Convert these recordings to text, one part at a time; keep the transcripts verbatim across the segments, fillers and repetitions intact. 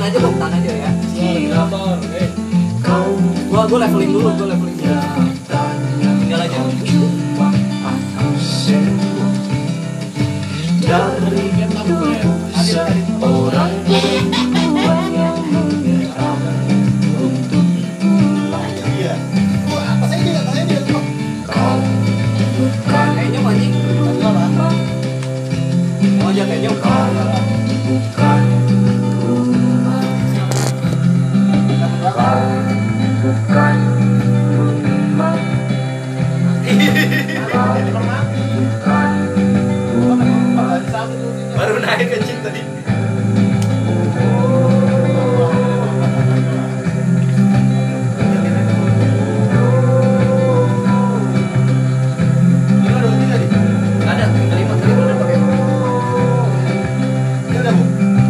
aja, Bob, tahan aja ya. Simulator, eh. Gua gua leveling dulu, gua leveling dulu. Tinggal aja. Dari Orang Iya. Gua apa saya dia, saya dia. kayaknya mancing. Oh, ya kayaknya kau bukan rumah. Kau bukan rumah. Baru naik kencing tadi. Ada kelima kelima udah pakai. Ini udah, Bu.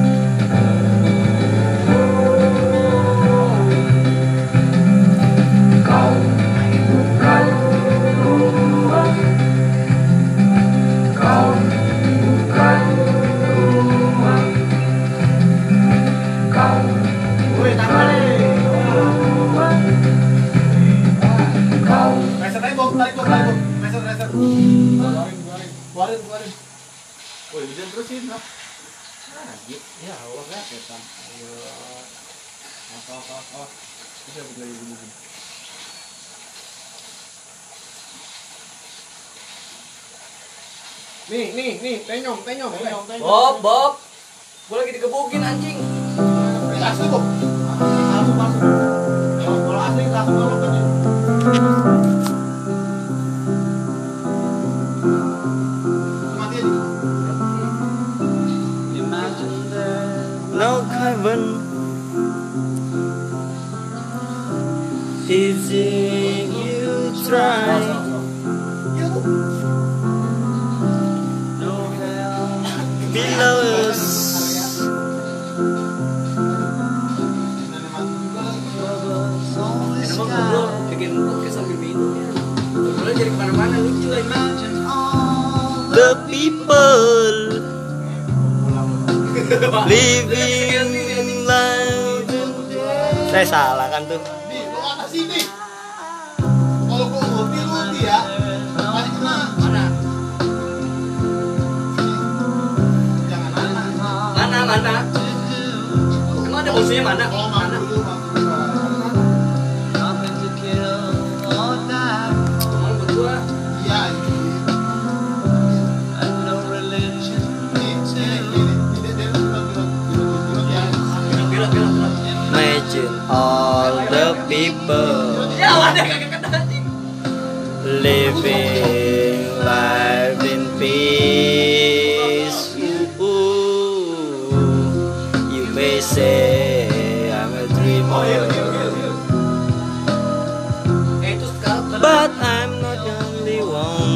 Kau bukan rumah. Kau bukan rumah. Kau Woi, tambah nih. kau Reset aja, Bob. Tarik, Bob. Tarik, Bob. Reset, reset. Keluarin, keluarin. Keluarin, keluarin. Woi, hujan terus sih, Bro. Ya, Allah ya, setan. Ayo. Apa apa apa. Bisa begini begini. Nih, nih, nih, penyom, penyom, penyom, penyom. Bob, Bob. Gua lagi digebukin anjing. Ini asli, Bob. Langsung masuk. Kalau kalau asli langsung masuk aja. Mati aja. No heaven is if you try. Iya, Bu. No hell below us. Enak banget bro, bikin podcast sambil minum ya. Ngobrolnya jadi kemana-mana lucu lagi. The people living life. Saya salah kan tuh. Nih, lu atas sini. Kalau gua ulti, lu ulti ya. Masih kena. Mana? Jangan mana. Mana mana? Emang ada musuhnya mana? Kalau Mana? mana dulu, Bang. Cuman buat gua. Iya, ini. Nih, ini, ini. Ini dia bilang, bilang, bilang, bilang, ya. Bilang bilang bilang. Imagine all the people. Ya ada kagak kata anjing. Living life in peace. Ooh, you may say I'm a dreamer, but I'm not the only one.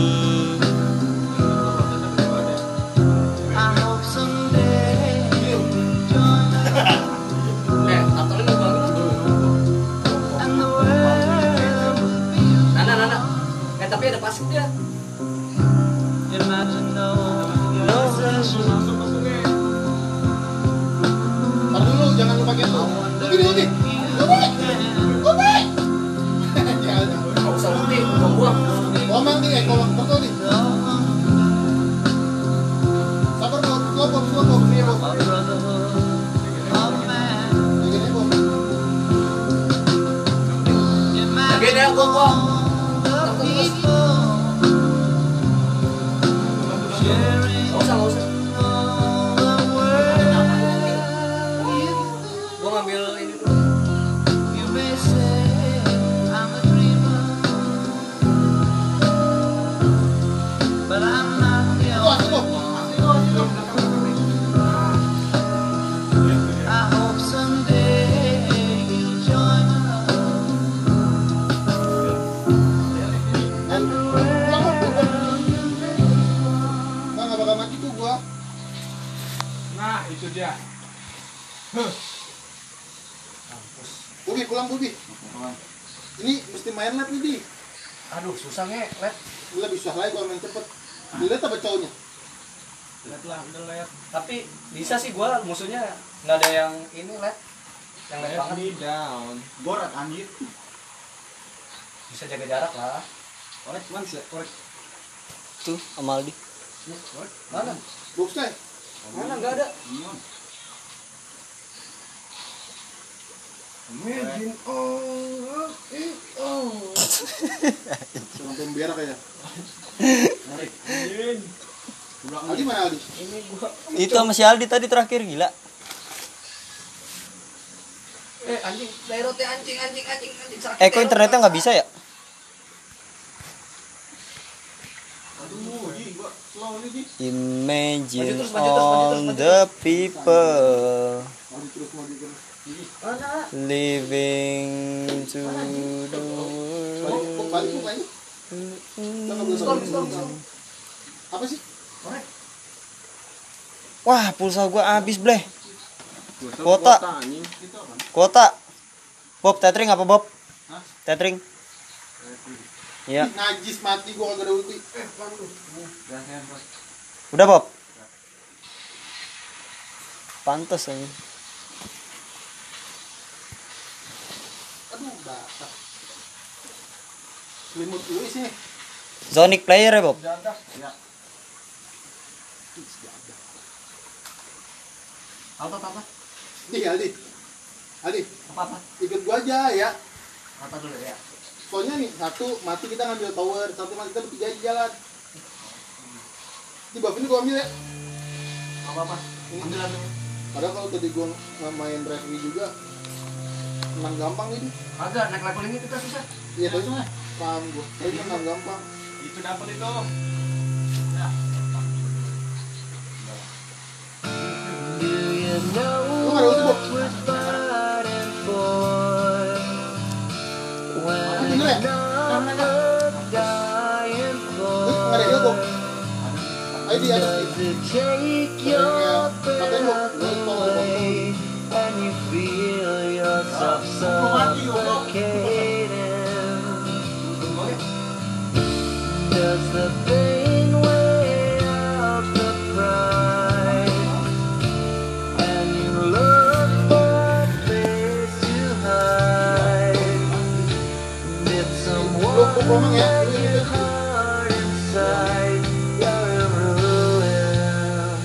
I hope someday you'll join us. Eh, atolin lu banget dulu. And the world will be. Nana, Nana. Eh, tapi ada pasif dia. Imagine no, no Masuk, masuknya. Tar dulu, jangan lupa gitu. Ulti, ulti. Ulti. Ulti. Jangan. Gak usah ulti, buang-buang. Ngomong nih, eh, kalau betul nih. Sabar, Bob. Slow, Bob. Slow, Bob. Iya, Bob. Begini, Bob. Oke deh, gua buang. Gak usah, gak usah. Gua ngambil ini dulu. Itu asli, Bob. Asli, Bob. Asli, Bob. Bang, nggak bakal mati tuh gua. Nah, itu dia. Huh. Bubi, pulang Bubi. Ini mesti main lab nih, Di. Aduh, susah nge, let. Gila bisa lagi kalau main cepet. Dilihat apa cowoknya? Lihat lah, udah lihat. Tapi bisa sih gua musuhnya nggak ada yang ini let. Yang left Let banget. me down. Gorak anjir. Bisa jaga jarak lah. Korek man sih, korek. Tuh Amaldi. Korek. Mana? Box kay. Mana nggak ada? Imagine all of it all. Sampai berak ya. Anjing. Aldi mana Aldi? Ini gua. Itu sama si Aldi tadi terakhir gila. Eh anjing, daerotnya anjing anjing anjing anjing sakit. Eh kok internetnya nggak bisa ya? Aduh, Ji, gua slow nih, Ji. Imagine Maju terus, maju terus, maju terus, all maju the people Maju terus, maju terus. Mana? living to the Balik, kok balik, kok balik? Kita nggak boleh Stop, balik. stop, stop. Apa sih? Korek. Wah pulsa gua habis bleh. Kuota. anjing. Itu apa? Kuota. Bob tethering apa Bob? Hah? Tethering. Iya. Ih, najis mati gua kagak ada ulti. Eh, waduh. Udah Bob. Pantes ini. Aduh, batak. Selimut dulu sih. Zonic player ya Bob. Jadah. Ya. Apa apa apa? Nih Aldi. Aldi, Apa apa? ikut gua aja ya. Apa dulu ya? Soalnya nih, satu mati kita ngambil tower, satu mati kita bertiga di jalan. Di buff ini gua ambil ya. Apa apa? Ambil ambil. Padahal kalau tadi gua nggak main referee juga menang gampang ini. Agak naik leveling itu kan susah. Iya tapi paham gua. Tapi menang gampang. Itu dapat itu. Lu nggak ada ulti Bob? Apa bener ya? Lu nggak ada heal Bob? Ayo di atas nih. Ya, katanya mau lu tolong Bob. Lu mati Bob. Does the pain weigh out the pride? And you look for a place to hide. Did someone Lu gua ngomong ya. Lu ini your heart inside? You're in ruins.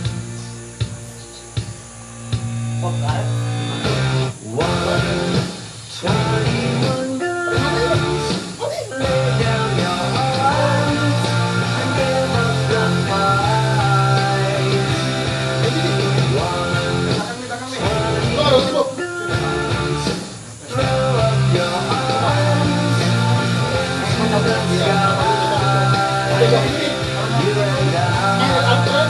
Oh, karet. One, twenty-one guns. Lay down your arms and give us the fight. One, Lu nggak ada ulti Bob? throw up your arms into the sky. Ada buff ini. You and I. Eh, antara.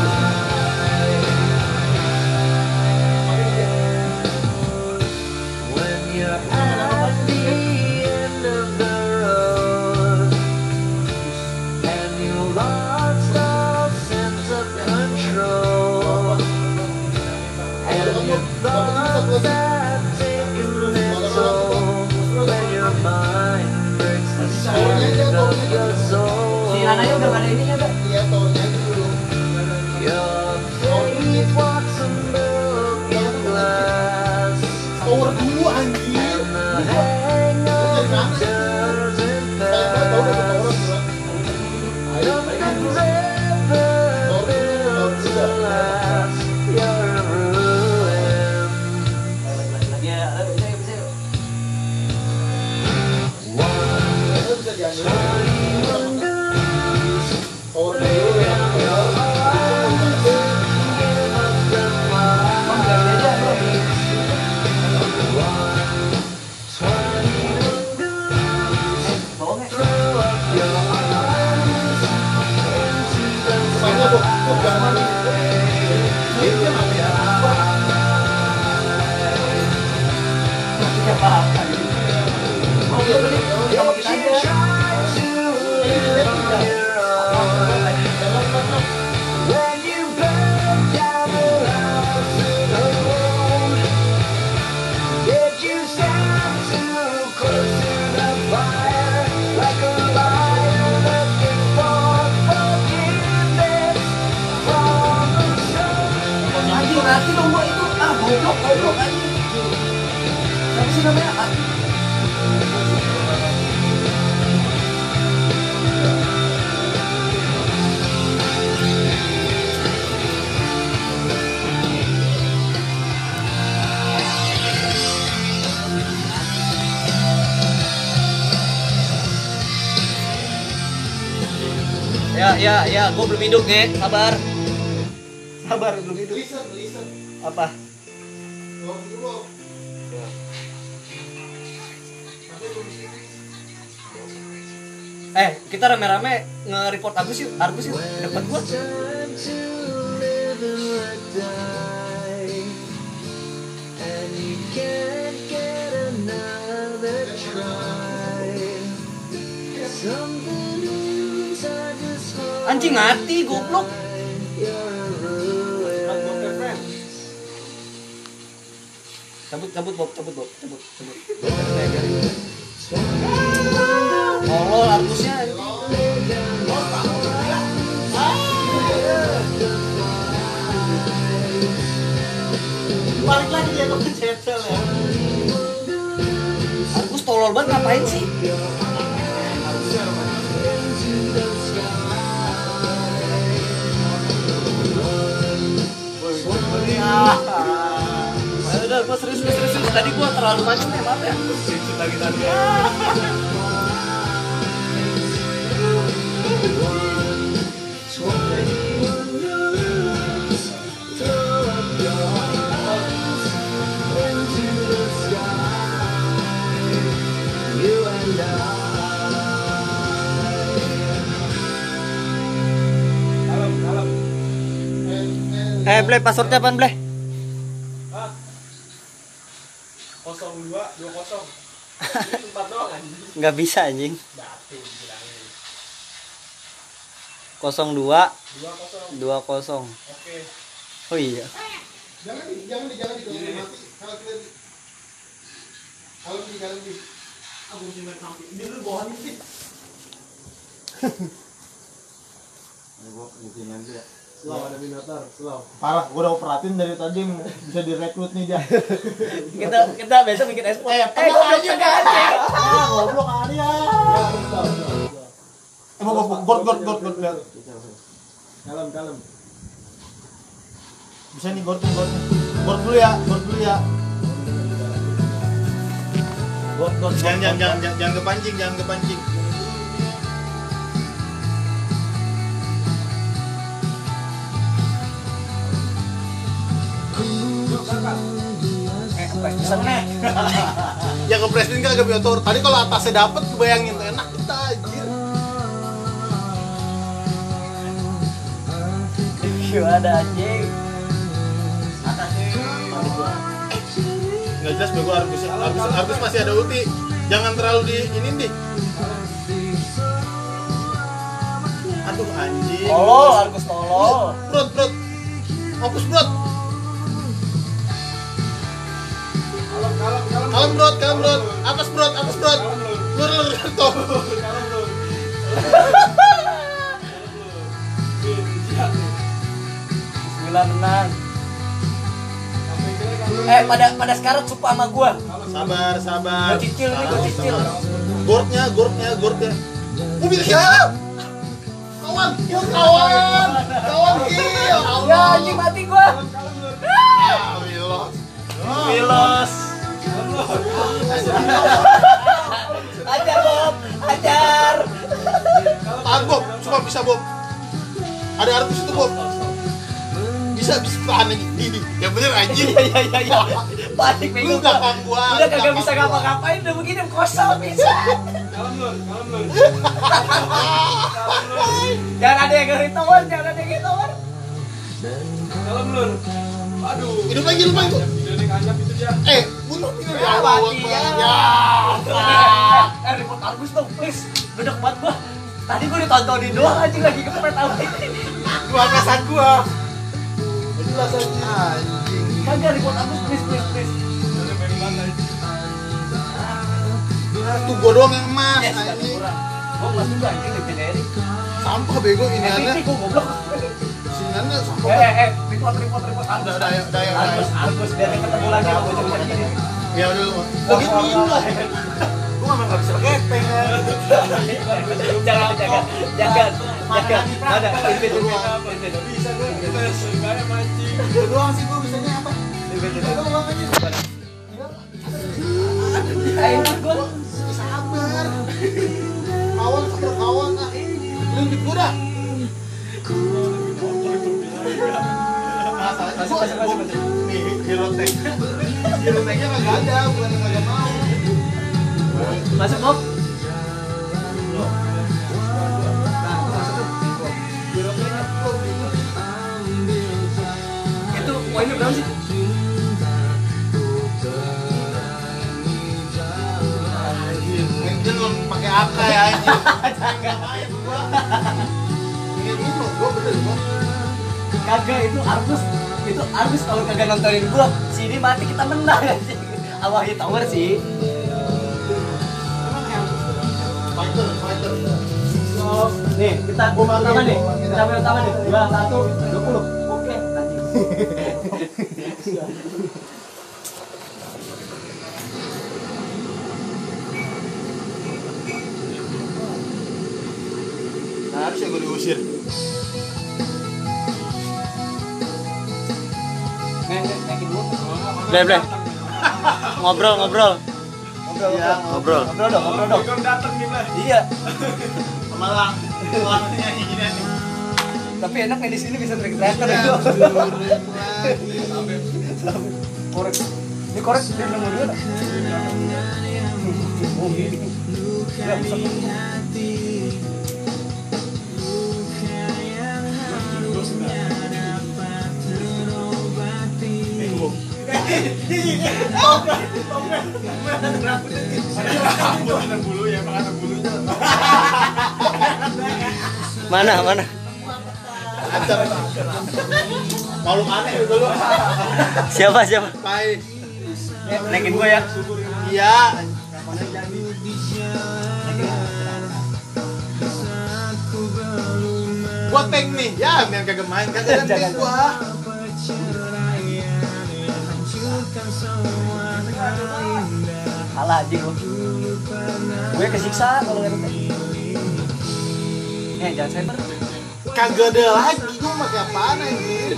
When you're at the end of the road and you lost all sense of control and you thought that taking its toll, when your mind breaks the spirit of your soul, Si Ananya udah nggak ada ininya udah. Iya, towernya itu dulu. your faith walks a broken glass. Tower dulu anjir. And the hangover doesn't Kayak gua tahu udah tower pass. dulu. Nothing ever built to last. You're a ruin. Lagi ya, bisa bisa. One, Itu bisa diambil. twenty-one guns. Tower Lay dulu. down your arms. Give us the Bang, nggak ada aja, bro. fight. One, twenty-one guns. Bawangnya. Throw up your arms into the Soalnya Bob, Bob jangan mati. Dia dia mati. Siapa? Oh, udah beli. Sama kita aja. Try to Ya, ya, ya, gue belum hidup, Ge. Sabar. Sabar, belum hidup. Listen, listen. Apa? Ngomong dulu. Eh, kita rame-rame nge-report Agus yuk. Agus yuk, depan gua. Anjing mati, goblok. Cabut, cabut, Bob, cabut, Bob, cabut, cabut. Tolol Argusnya. Balik lagi dia ke pencetel ya. Argus tolol banget ngapain sih? Ya udah, gua serius, serius, serius. Tadi gua terlalu macem ya, maaf ya. Lagi tadi. Eh, Ble, passwordnya apaan, Ble? Kosong dua dua kosong. Ini tempat doang anjing. Nggak bisa, anjing. Batin bilangin. nol dua Dua kosong. dua kosong. Oke. Oh iya. Jangan di, jangan di, jangan di, jangan mati. Kalau kita di, kalau di, jangan di. Aku mesti main sampai. Ini lu bawahan sih. Ini gua kemungkinan dia. Slow ada Minotaur, slow. Parah, gua udah perhatiin dari tadi bisa direkrut nih dia. Kita kita besok bikin esport. Eh, Eh, goblok juga anjing. Ah, goblok kali ya. Eh, mau mau gord gord gord gord lihat. Kalem, kalem. Bisa nih gord gord. Gord dulu ya, gord dulu ya. Gord gord. Jangan jangan jangan jangan, jangan kepancing, jangan kepancing. Eh, kepes bisa nih. Ya ke presiden kan agak biotor. Tadi kalau atasnya dapet, bayangin enak kita anjir. Gimana anjing? Nggak jelas bego Argus, Argus, Argus masih ada ulti. Jangan terlalu di ini deh. Aduh anjing. Tolol, Argus tolol. Brot, brot. Fokus brot. Kalem brot, kalem brot. Atas brot, atas brot. Lur, lur, lur, toh. Bismillah, tenang. Eh, pada pada sekarang sumpah sama gua. Sabar, sabar. Gua cicil nih, gua cicil. Gordnya, gordnya, gordnya. Oh, bisa. Kawan, kill kawan. Kawan kill. Ya anjing mati gua. Ah, Milos. Milos. Ajar Bob, ajar. Tahan Bob, cuma bisa Bob. Ada Argus itu Bob. Bisa bisa tahan lagi. Ini, yang bener anjing. Iya iya iya iya. Panik Lu bego gua. belakang gua. Udah kagak belakang bisa gua. ngapa-ngapain udah begini kosong bisa. Kalem lur, kalem lur. Jangan ada yang ngeri tower, jangan ada yang ngeri tower. Kalem lur. Aduh. Hidup lagi, hidup lagi. Video kanjak itu dia. Eh, bunuh ini Ya, ya. mati, ya. Ya. Eh, report Argus dong, please. Gedek banget gua. Tadi gua ditontonin doang anjing lagi kepet apa ini. Gua kesan gua. Jelas anjing. Kagak report Argus please please please. Udah main mana? Tuh gua doang yang emas Yes, satu anjing. kurang. Gua kelas juga anjing legendary. Sampah bego ini M V P aneh. gua goblok. Sinannya sampah. Eh, eh, eh, report report report Argus. Udah, udah, ya, udah, ya, udah, ya. Argus, Argus biar ketemu lagi sama bocah bocah ini. Ya udah lu. Gua gituin lah. Gua emang enggak bisa keteng. Jangan jangan jangan jangan. Ada invite invite. Bisa gue. Kita sebenarnya mancing. Itu doang sih gua bisanya apa? Invite Itu doang aja. Ayo gua. Sabar. Kawan sama kawan ah. Lu gua dah. Masuk, masuk, masuk, masuk. Nih, hero tank. Hero tanknya nggak ada, bukan nggak mau. Masuk, Bob. Itu poinnya berapa sih? Mungkin lo pakai apa ya anjing? Ini dulu, gua bener gua. Kagak, itu Argus. Itu Argus kalau kagak nontonin gua, sini mati kita menang anjing. Sama Hightower sih. Fighter, fighter. Oh, nih, kita Gua pertama mati. nih. Kita pertama nih. dua, satu, dua puluh. Oke, anjing. Nah, harusnya gua diusir. Nih, nih, naikin dulu. Bleh, bleh. Ngobrol, ngobrol. Ngobrol, Iya, ngobrol. Ngobrol. Ngobrol dong, ngobrol dong. Kan datang nih, Bang. Iya. Malang. Malang nyanyi gini nih. Tapi enak ya di sini bisa teriak-teriakan itu. Korek. Ini korek dia nomor dua. tak? Oh, gini. Ya, bisa. Mana, mana? Ancam. Malu aneh dulu. Siapa, siapa? Pai. Eh, naikin gua ya. Iya. Gua tank nih. Ya, biar kagak main kagak ada tank gua. Kalah anjing gua. Gue kesiksa kalau nggak ada. Eh, jangan cyber. Kagak ada lagi. Gua pakai apaan anjir?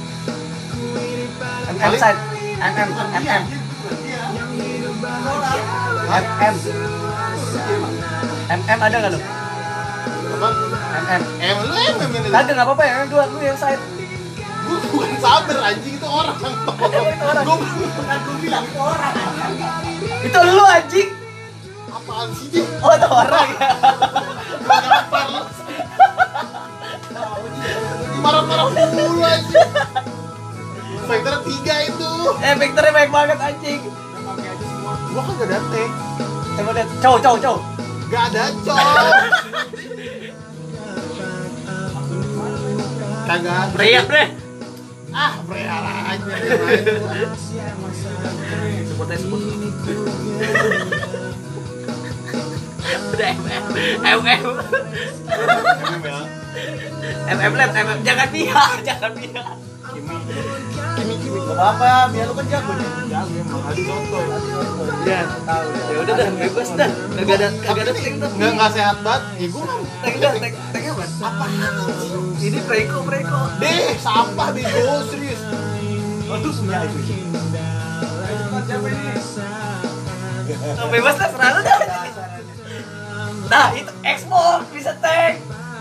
M M side. M M M M. M M. M M ada nggak lu? Apa? M M. Em lu em em ini. Kagak nggak apa-apa ya, dua lu yang side. Gua bukan sabar anjing itu orang. Itu orang. Gua bukan gua bilang itu orang. Itu lu anjing. Apaan sih dia? Oh, itu orang ya. Marah-marah mulu anjing. Fighter tiga itu. Eh, vektornya baik banget anjing. Gua kagak ada tank. Coba lihat. Cow, cow, cow. Gak ada cowok. Kagak. Teriak, Bleh. Ah, prea aja. Sebut aja sebut. Udah, M M. M M. M M lab, M M. Jangan pihak, jangan pihak. Kimi kimi gak apa-apa, biar lu kan jago nih. Jago emang ada contoh. Ya, ya udah dah, bebas dah. Kagak ada, kagak ada tank dah. Enggak enggak sehat banget. Ya gua mah Tank dah, tank, tank apa? apa Ini preko, preko. deh, sampah bego serius. Aduh, punya itu. Oh, bebas dah, serah lu dah. Nah, itu Xbox bisa tank.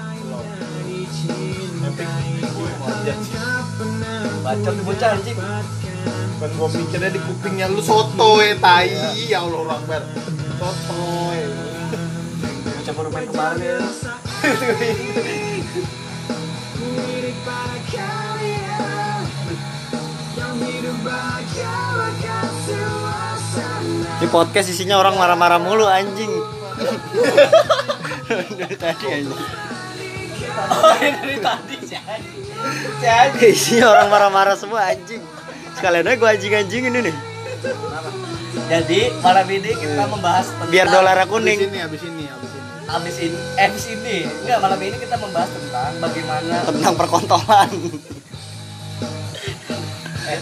Bacot tuh bocah anjing. Kan gua mikirnya di kupingnya lu soto ya tai. Ya Allah Akbar. Soto. Bocah baru main kemarin ya. Di podcast isinya orang marah-marah mulu anjing. Dari tadi anjing. Oh, ini dari tadi sih anjing. Si anjing. Isinya orang marah-marah semua anjing. Sekalian aja gua anjing-anjingin ini. Jadi malam ini kita membahas tentang Biar dolarnya Abis kuning. ini, abis ini, abis ini. abis ini, eh, abis ini. Enggak, malam ini kita membahas tentang bagaimana Tentang perkontolan. eh,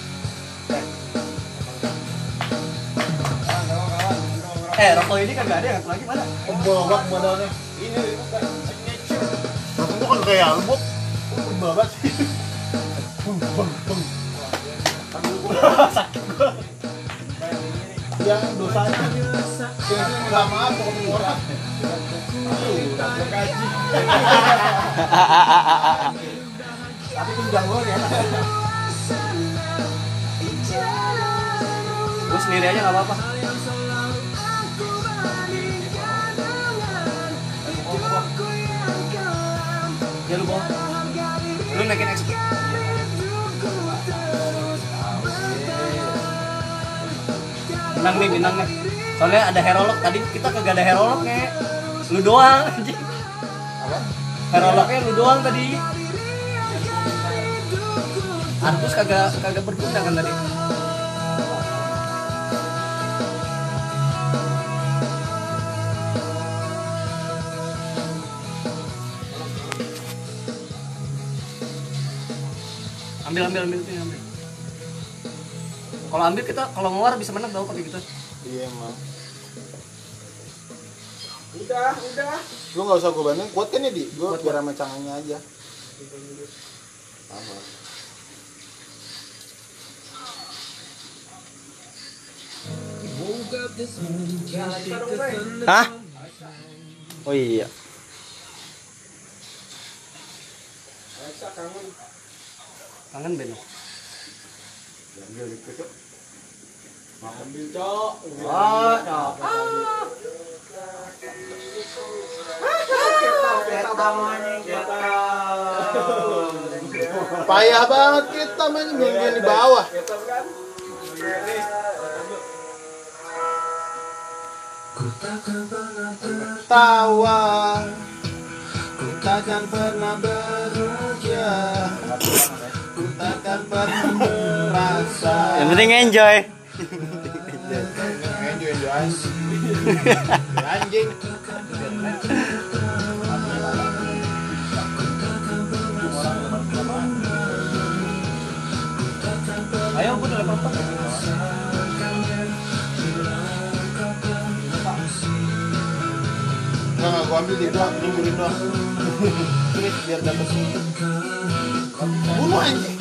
eh, rokok ini kagak ada yang satu lagi mana? Babak modalnya. Ini bukan signature. Rokok gua kan kayak album. Babak sih. Bung bung bung. Sakit gua. Yang dosanya yang minta maaf kalau ketemu orang. Udah gaji. Tapi tunjang gua ya. sendiri aja nggak apa-apa. Ya lu bawa. Lu naikin X P. Bintang nih, bintang nih. Soalnya ada herolog, tadi kita kagak ada herolognya. Lu doang anjing. Apa? Herolognya lu doang tadi. Artus kagak kagak berguna kan tadi. Ambil ambil ambil tuh ambil. Kalau ambil kita kalau ngeluar bisa menang tau pakai gitu. Iya emang. Udah, udah. Lu nggak usah gue bantuin, kuat kan ya di? Gue biar sama cangangnya aja. Sama. Hah? Oh iya. Alexa kangen. Kangen Ben. Ambil dikit yuk. Ambil, Cok. Ah, Cok. Kita namanya kita. Payah banget kita main minggu di bawah. Kita kan. Nih. Tawa, ku takkan pernah beruja, ku takkan pernah merasa. Yang penting enjoy. Enjoy, enjoy anjing. Ayo gue udah level empat. Enggak, enggak, gua ambil di doang, nyinggurin doang. Terus biar dapet sini. Bunuh anjing.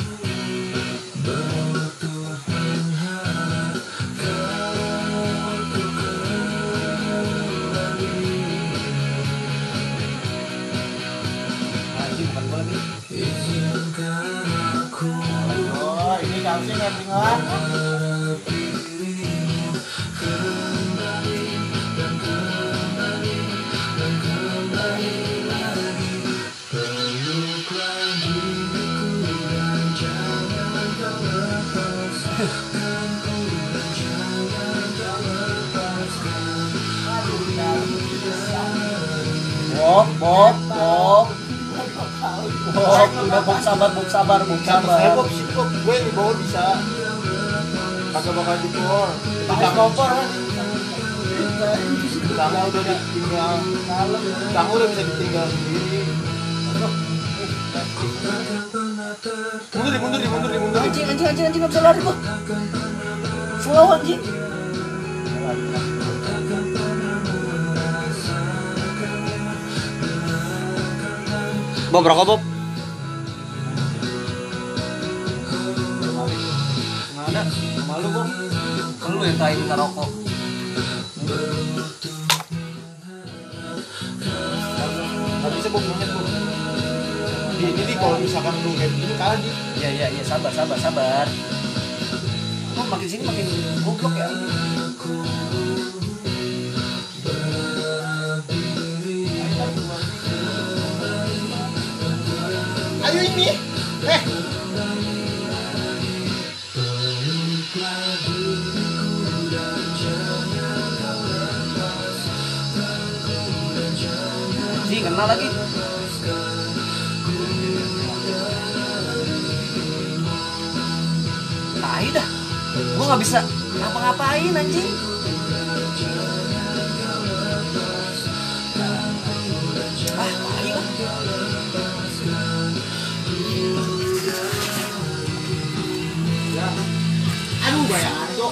Anjing bukan gue lagi. Oh, ini harusnya nggak tinggal. Bob, Bob, Bob. Bob, udah Bob sabar, Bob sabar, Bob Saya sabar. Bob, sini Bob, gue di bawah bisa. Kagak bakal dipor. Pakai kompor kan? Tangga udah ditinggal. Tangga udah bisa ditinggal sendiri. Mundur di, mundur di, mundur di, mundur di. Anjing, anjing, anjing, anjing, gak bisa lari gua. Slow anjing. Bob, rokok Bob. Nggak ada, malu Bob. Kan lu yang tadi minta rokok. Gak bisa Bob, monyet Bob. Di ini nih kalau misalkan lu kayak begini kalah di. Iya, iya, iya, sabar, sabar, sabar. Oh, makin sini makin goblok ya. Ayo ini. Eh. Sih, kena lagi. Tai dah. Gua nggak bisa ngapa-ngapain anjing. Ah, tai lah. Aduh, bayangan Cok.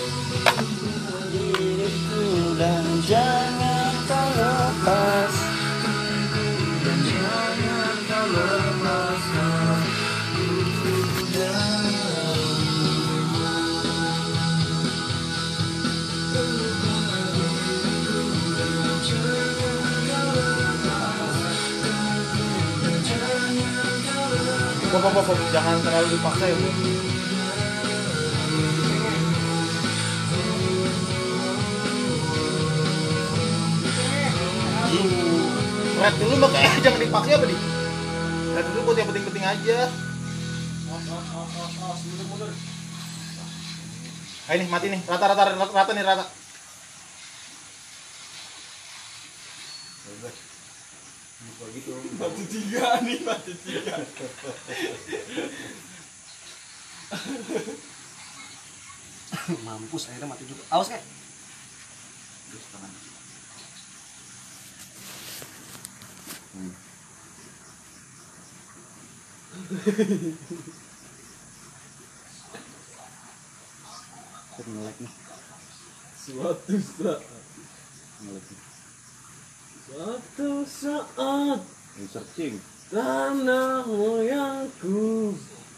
Diriku dan jangan kau lepas. Dan jangan kau lepaskan. Bob, Bob, Bob, jangan terlalu dipaksa ya Bob. Red dulu makanya jangan dipakai apa nih? Red dulu buat yang penting-penting aja. Ayo nih mati nih, rata rata rata, rata nih rata. Gitu. Batu tiga nih, batu tiga. Mampus akhirnya mati juga. Awas kayak. Ngelek nih. Suatu saat. Suatu saat. Searching. Tanah moyangku.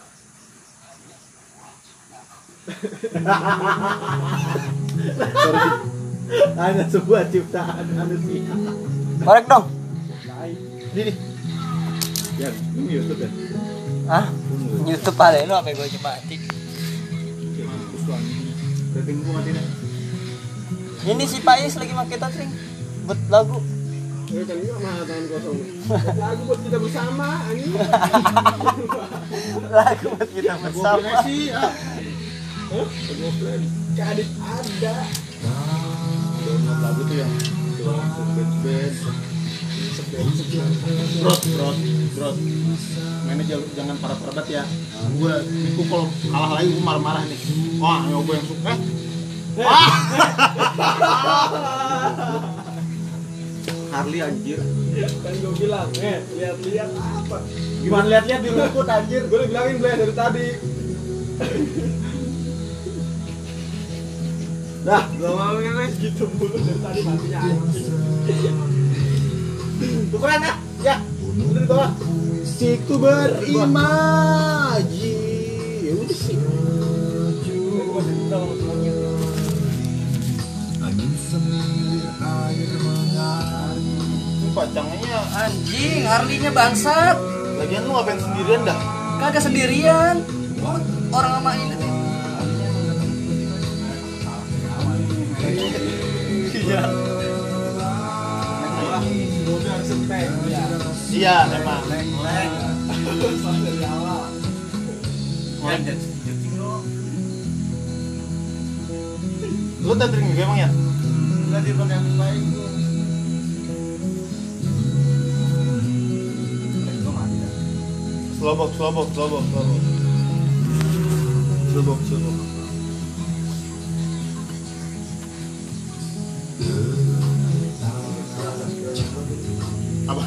Ada sebuah ciptaan manusia. Korek dong. Ini nih. Ya, ini YouTube ya. Ah, YouTube ada lu apa gue coba mati. Mampus lu anjing. Rating gua mati dah. Ini si Pais lagi pakai touchscreen buat lagu. Eh kan ini mah tangan kosong. Lagu buat kita bersama anjing. Lagu buat kita bersama. sih. Ah. Hah? Lagu plan. Kadit ada. Download lagu tuh yang band-band. Bro, bro, bro. Mainnya jangan, jangan parah-parah ya. Gue itu kalau kalah lagi gue marah-marah nih. Wah, nyoba yang suka. Wah. Harley anjir. Kan gue bilang, eh lihat-lihat apa? Gimana lihat-lihat di rumput anjir. Gue udah bilangin gue dari tadi. Nah, gak mau kan guys gitu mulu dari tadi matinya anjing. Tukeran ah. Ya. Udah di bawah. Siku berimaji. Ya udah sih. Ini pacangnya Anjing, Harley-nya bangsat. lagian lu ngapain sendirian dah? Kagak sendirian. Orang sama ini tuh. Iya. Iya, memang. Lu tethering juga emang ya? Enggak dipakai yang lain gua. Slowbox, slowbox, slowbox, slowbox. Slowbox, slowbox. Apa?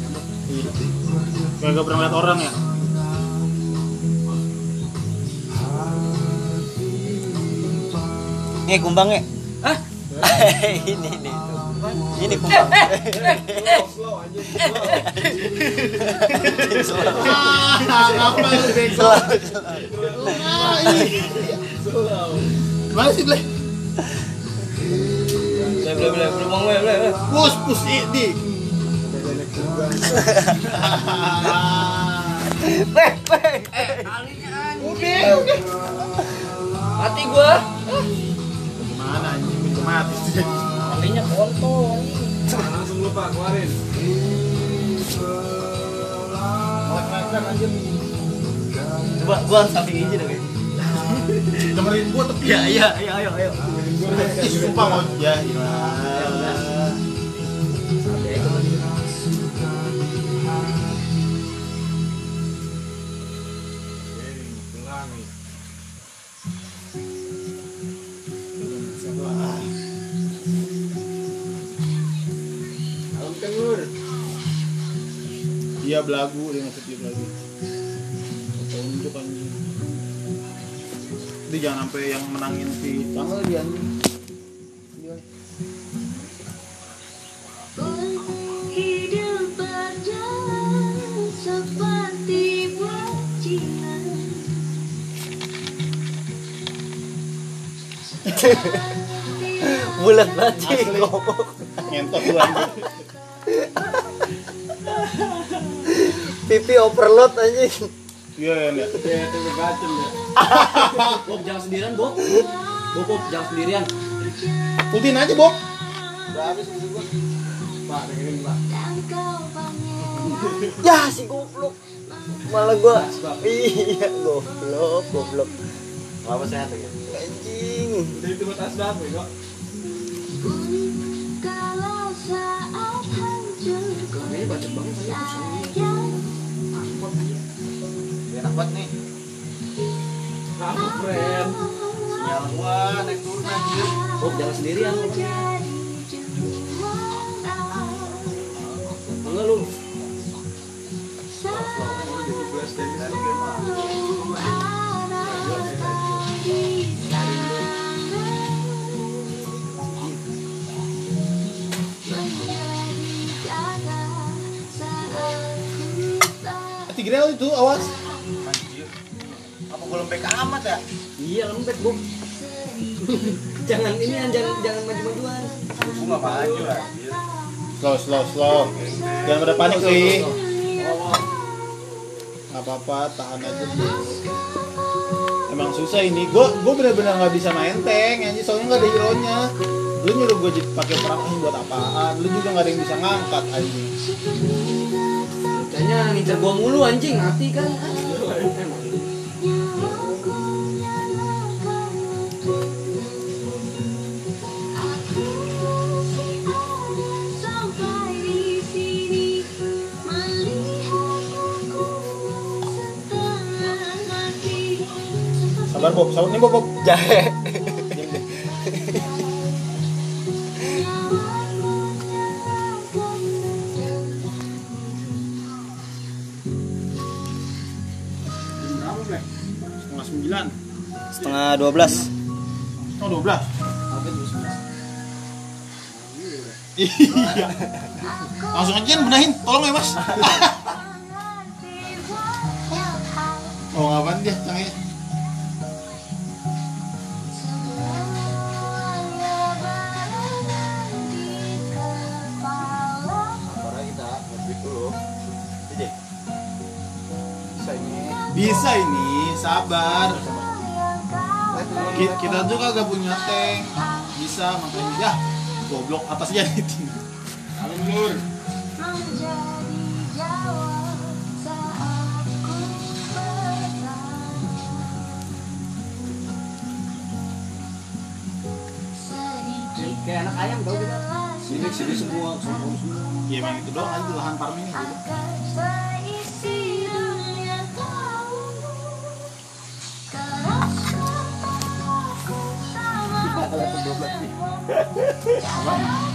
Iya. Gak pernah lihat orang ya? Nih kumbangnya. Hah? ini nih tuh. Ini kumbang. Slow anjing. Ah, apa lu bego? Slow. Mana sih, Bleh? Boleh boleh boleh boleh boleh boleh. Pus, pus ini. Beh, beh. Eh, alinya anjing. Udah, udah. Mati gua. Gimana anjing itu mati sih. Alinya kontol. Langsung lupa keluarin. Melek-melekan anjir. Coba gua samping ini deh. Dengerin gua tapi Iya iya iya ayo ayo. Ih, sumpah mau ya. Iya. Alam kan lur. Iya belagu dia ngasih belagu. Tunjuk anjing. Jadi jangan sampai yang menangin si tanggal dia anjing. Iya. Hidup berjalan seperti bajingan. Bulat banget sih. Ngentot lu anjing. Pipi overload anjing. Iya ya. Ya. Kayak tempe bacem ya. Bob jangan sendirian, Bob. Bob, Bob jangan sendirian. Ultin aja, Bob. Udah habis ini gua. Pak, dengerin Pak. Ya si goblok. Malah gua. Iya, goblok, goblok. Apa sehat ya? Anjing. Jadi itu tas berapa kok? Ini bacot banget saya. Enak banget nih. Aku keren. Sinyal gua naik turun anjir. Oh, jalan sendirian lu. Enggak lu. Tigrel itu awas. Anjir. Apa gua lembek amat ya? Iya, lembek, Bu. Jangan ini jangan jangan maju-majuan. Gua enggak maju anjir. Slow slow slow. Jangan pada panik Li. Nggak apa-apa, tahan aja dulu. Emang susah ini. Gue gue benar-benar nggak bisa main tank, anjir, soalnya nggak ada hero nya. Lu nyuruh gue pakai perang ini buat apaan? Lu juga nggak ada yang bisa ngangkat anjing. Kayaknya ngincer gua mulu anjing, mati kan. Sabar Bob, sabar nih Bob, Bob. Jahe. Setengah sembilan. Setengah dua belas. Oh dua belas. Iya. Langsung aja benahin, tolong ya Mas. Oh ngapain dia tangannya? Bisa ini, sabar. Ki- Kita tuh kagak punya tank. Bisa makanya ya. Goblok atasnya itu. Alur. Kayak anak ayam tau kita. Sini sini semua, semua semua. Ya emang itu doang aja lahan farming gitu. Apa?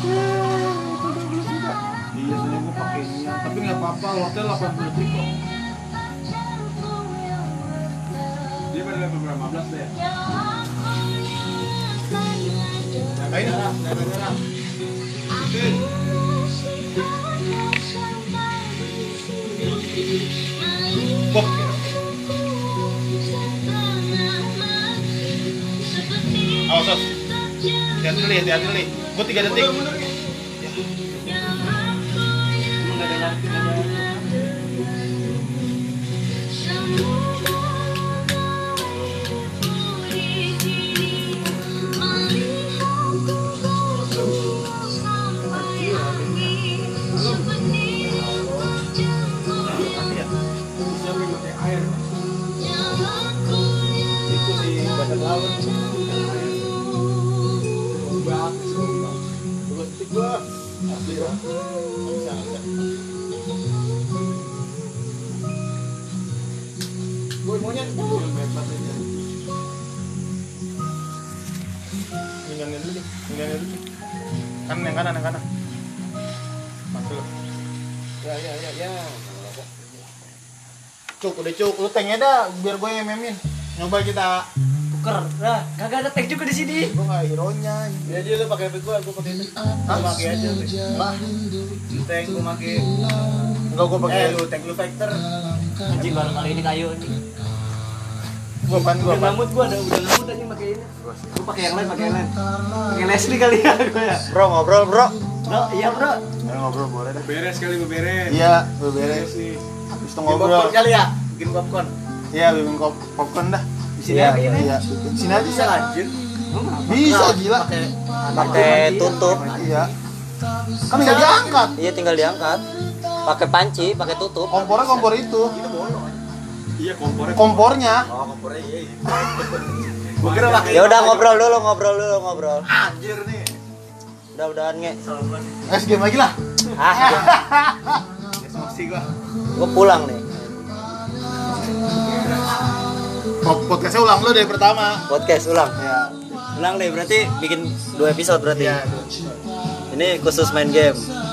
Iya, tadi gua pakai ini, tapi nggak apa-apa. Hotel delapan puluh detik kok. Dia pada level berapa belas deh? Ngapain? Daerah-daerah. Bob. Awas, awas. Hati-hati dulu, hati-hati dulu. Gua tiga detik. Itu si badak laut. Dua detik gua. Asli gua. Bisa, bisa. Gua maunya Minggangin dulu deh, minggangin dulu. Kanan yang kanan, yang kanan. Masuk. Ya ya ya ya. Cuk, udah cuk, lu tanknya dah, biar gue yang memin. Nyoba kita. Tuker. Lah, kagak ada tank juga di sini. Gue nggak hero-nya. Ya aja lu pakai gua, gua pakai ini. Gua pakai aja. Enggak, Tank gua pakai. enggak gue pakai. Eh lu tank lu fighter. Anjing baru kali ini kayu anjing. Gue pan, gue Udah pan. ngamut gua, udah udah ngamut anjing pakai ini. Gua pakai yang lain, pakai yang lain. Pakai Leslie kali ya gua ya. Bro, ngobrol bro. Bro, iya bro. Ya, ngobrol boleh dah. Beres kali beres. Iya, gue beres. sih. Habis itu Bikin ngobrol. popcorn kali ya? Bikin popcorn. Iya, bikin pop popcorn dah. Di sini Iya, aja iya, ini. iya. Bikin sini aja. Bisa lanjut. Bisa gila. Pakai Pakai tutup. Iya. Kan nggak diangkat. Iya tinggal diangkat. Pakai panci, pakai tutup. Kompornya kompor itu. Itu bolong. Iya kompornya. Kompornya. Oh kompornya iya. iya. Gua kira pakai. Ya udah ngobrol dulu, ngobrol dulu, ngobrol. Anjir nih. Udah-udahan nge. Es game lagi lah. Ah, Emosi gua. gue pulang nih. Podcastnya ulang lo dari pertama. Podcast ulang. Ya. Ulang deh, berarti bikin dua episode berarti. Iya. Ini khusus main game.